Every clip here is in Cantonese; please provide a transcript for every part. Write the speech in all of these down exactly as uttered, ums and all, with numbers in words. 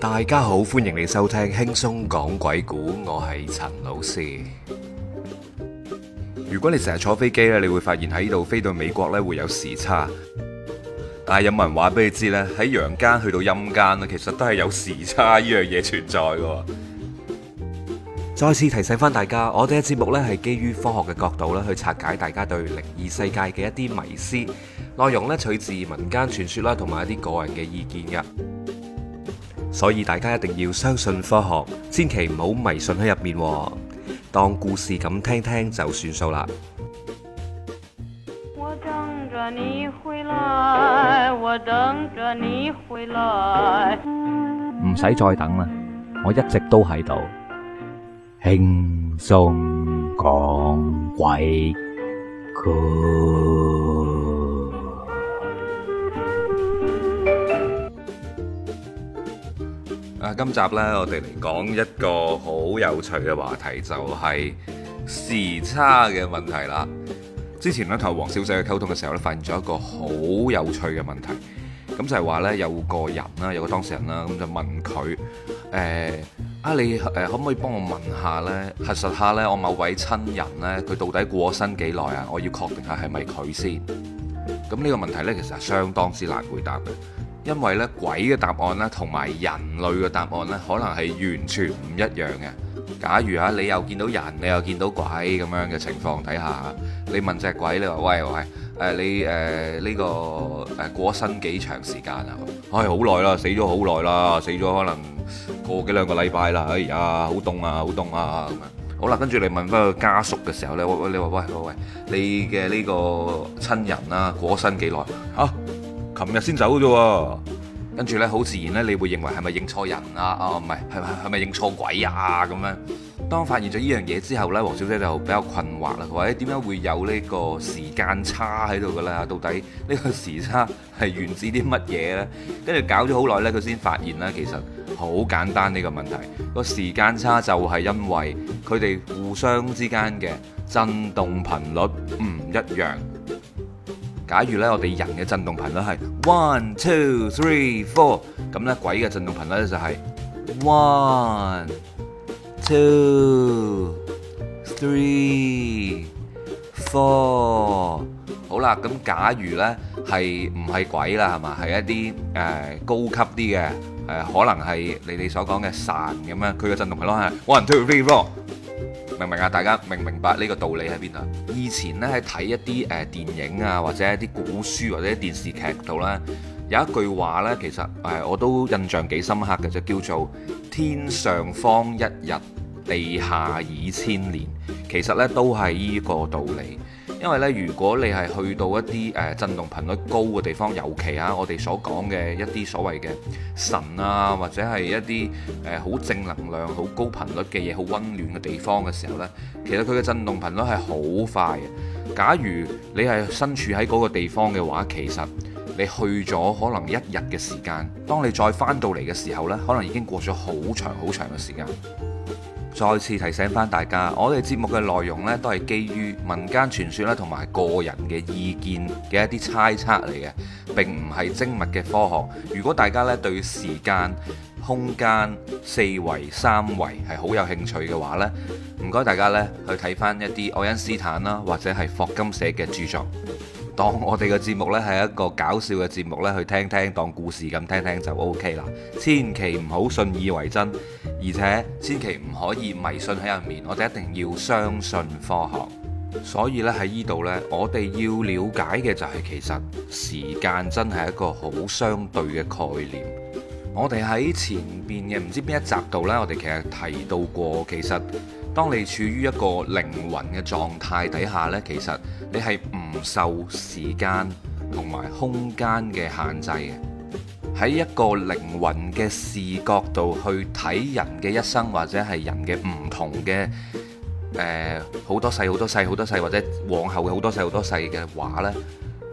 大家好，歡迎你收聽輕鬆講鬼故，我係陳老師。如果你成日坐飛機咧，你會發現喺度飛到美國咧會有時差，但係有冇人話俾你知呢？喺陽間去到陰間咧，其實都係有時差呢樣嘢存在嘅。再次提醒翻大家，我哋嘅節目咧係基於科學嘅角度咧去拆解大家對靈異世界嘅一啲迷思，內容咧取自民間傳說啦，同埋一啲個人嘅意見嘅。所以大家一定要相信科學，千祈唔好迷信喺入面，當故事咁聽聽就算數啦。 我等着你回來，我等着你回來。 唔使再等啦，我一直都喺度，輕鬆講鬼故。 啊，今集呢，我哋嚟講一個好有趣嘅話題，就係時差嘅問題啦。之前咧同黃小姐嘅溝通嘅時候咧，發現咗一個好有趣嘅問題。咁就係話呢，有個人啦，有個當事人啦，咁就問佢：誒啊，你誒可唔可以幫我問下呢？核實下呢，我某位親人呢，佢到底過咗身幾耐啊？我要確定下係咪佢先。咁呢個問題呢，其實係相當之難回答嘅。因為咧鬼嘅答案咧，同埋人類嘅答案咧，可能係完全唔一樣嘅。假如啊，你又見到人，你又見到鬼咁樣嘅情況底下，你問隻鬼，你話喂喂，誒、呃、你誒呢、呃這個誒過身幾長時間啊？唉，好耐啦，死咗好耐啦，死咗可能個幾兩個禮拜啦。哎呀，好凍啊，好凍啊咁樣。好啦，跟住你問翻個家屬嘅時候咧，喂喂，你話喂喂喂，你嘅呢個親人啦，過身幾耐啊？琴日先走啫喎，跟住呢，好自然呢，你會認為係咪認錯人啊？啊，唔係，係咪係咪認錯鬼啊？咁樣，當發現咗呢樣嘢之後呢，黃小姐就比較困惑啦。佢話：誒點解會有呢個時間差喺度嘅咧？到底呢個時差係源自啲乜嘢呢？跟住搞咗好耐呢，佢先發現呢，其實好簡單呢個問題。個時間差就係因為佢哋互相之間嘅震動頻率唔一樣。假如咧，我哋人嘅震動頻率係 one two three four， 咁咧鬼嘅震動頻率咧就係 one two three four。好啦，咁假如咧係唔係鬼啦，係嘛？係一啲誒、呃、高級啲嘅誒，可能係你哋所講嘅神咁樣，佢嘅震動頻率係 one two three four。明唔明啊？大家明唔明白呢個道理喺邊度？以前咧喺睇一啲誒電影啊，或者一啲古書或者電視劇度咧，有一句話咧，其實誒我都印象幾深刻嘅，就叫做天上方一日，地下已千年。其實咧都係呢個道理。因為咧，如果你係去到一啲誒震動頻率高嘅地方，尤其啊，我哋所講嘅一啲所謂嘅神啊，或者係一啲誒好正能量、好高頻率嘅嘢、好溫暖嘅地方嘅時候呢，其實佢嘅震動頻率係好快嘅。假如你係身處喺嗰個地方嘅話，其實你去咗可能一日嘅時間，當你再翻到嚟嘅時候呢，可能已經過咗好長好長嘅時間。再次提醒翻大家，我哋節目嘅內容呢，都係基於民間傳說啦，同埋個人嘅意見嘅一啲猜測嚟嘅，並唔係精密嘅科學。如果大家呢對時間、空間、四維、三維係好有興趣嘅話呢，唔該大家呢去睇翻一啲愛因斯坦啦，或者係霍金寫嘅著作。當我哋嘅節目呢係一個搞笑嘅節目呢，去聽聽當故事咁聽聽就 O K 啦。千祈唔好信以為真，而且千祈唔可以迷信喺入面。我哋一定要相信科學。所以呢，喺呢度呢，我哋要了解嘅就係其實時間真係一個好相對嘅概念。我哋喺前邊嘅唔知邊一集度呢，我哋其實提到過，其實當你處於一個靈魂嘅狀態底下呢，其實你係唔受時間同埋空間嘅限制嘅。喺一個靈魂嘅視角度去睇人嘅一生，或者係人嘅唔同嘅誒好多世好多世好多世，或者往後嘅好多世好多世嘅話呢，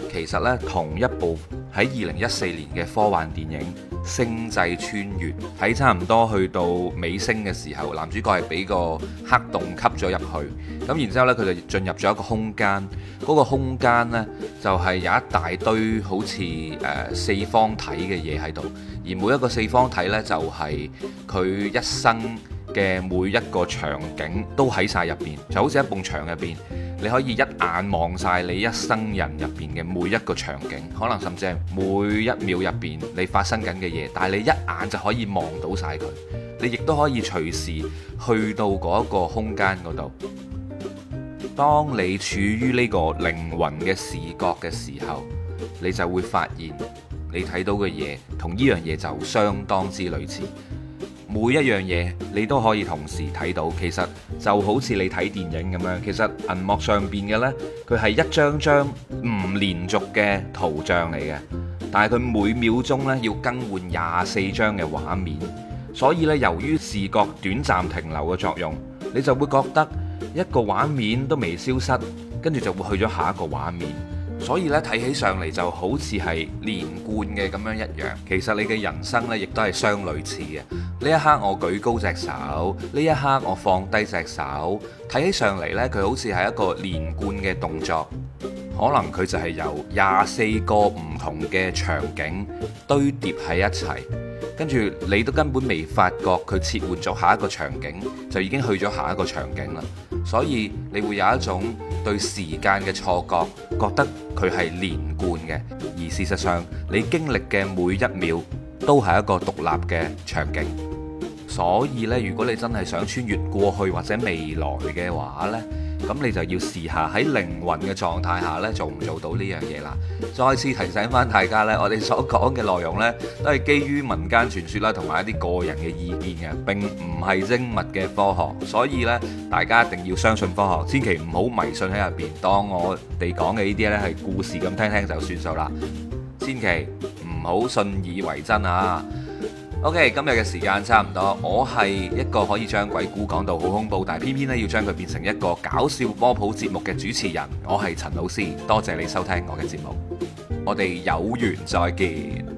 其實呢，同一部喺二零一四年嘅科幻電影《星際穿越》，喺差唔多去到尾聲嘅時候，男主角係俾個黑洞吸咗入去，咁然之後呢，佢就進入咗一個空間，嗰、嗰個空間呢，就係有一大堆好似誒、呃、四方體嘅嘢喺度，而每一個四方體呢，就係佢一生嘅每一個場景都喺晒入邊，就好似一埲牆入邊。你可以一眼望晒你一生人入邊嘅每一個場景，可能甚至係每一秒入邊你發生緊嘅嘢，但係你一眼就可以望到晒佢。你亦都可以隨時去到嗰個空間嗰度。當你處於呢個靈魂嘅視覺嘅時候，你就會發現你睇到嘅嘢同呢樣嘢就相當之類似。每一樣嘢你都可以同時睇到，其實就好似你睇電影咁樣。其實銀幕上邊嘅呢，佢係一張張唔連續嘅圖像嚟嘅，但係佢每秒鐘呢要更換廿四張嘅畫面，所以呢，由於視覺短暫停留嘅作用，你就會覺得一個畫面都未消失，跟住就會去咗下一個畫面。所以咧，睇起上嚟就好似係連貫嘅咁樣一樣，其實你嘅人生呢亦都係相類似嘅。呢一刻我舉高隻手，呢一刻我放低隻手，睇起上嚟呢，佢好似係一個連貫嘅動作，可能佢就係由廿四個唔同嘅場景堆疊喺一齊，跟住你都根本未發覺佢切換咗下一個場景，就已經去咗下一個場景啦。所以你會有一種對時間嘅錯覺，覺得佢係連貫嘅，而事實上你經歷嘅每一秒都係一個獨立嘅場景。所以呢，如果你真係想穿越過去或者未來嘅話呢，咁你就要試下喺靈魂嘅狀態下呢，做唔做到呢樣嘢啦。再次提醒翻大家呢，我哋所講嘅內容呢，都係基於民間傳說啦，同埋一啲個人嘅意見嘅，並唔係精密嘅科學。所以呢，大家一定要相信科學，千祈唔好迷信喺入邊，當我哋講嘅呢啲呢係故事咁聽聽就算數啦，千祈唔好信以為真啊！OK，今日嘅時間差唔多，我係一個可以將鬼故講到好恐怖，但係偏偏咧要將佢變成一個搞笑科普節目嘅主持人，我係陳老師，多謝你收聽我嘅節目，我哋有緣再見。